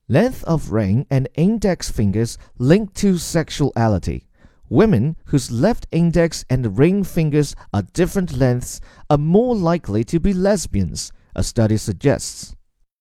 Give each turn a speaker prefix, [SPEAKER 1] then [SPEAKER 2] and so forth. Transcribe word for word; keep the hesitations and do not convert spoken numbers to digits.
[SPEAKER 1] Length of ring and index fingers linked to sexuality. Women whose left index and ring fingers are different lengths are more likely to be lesbians, a study suggests.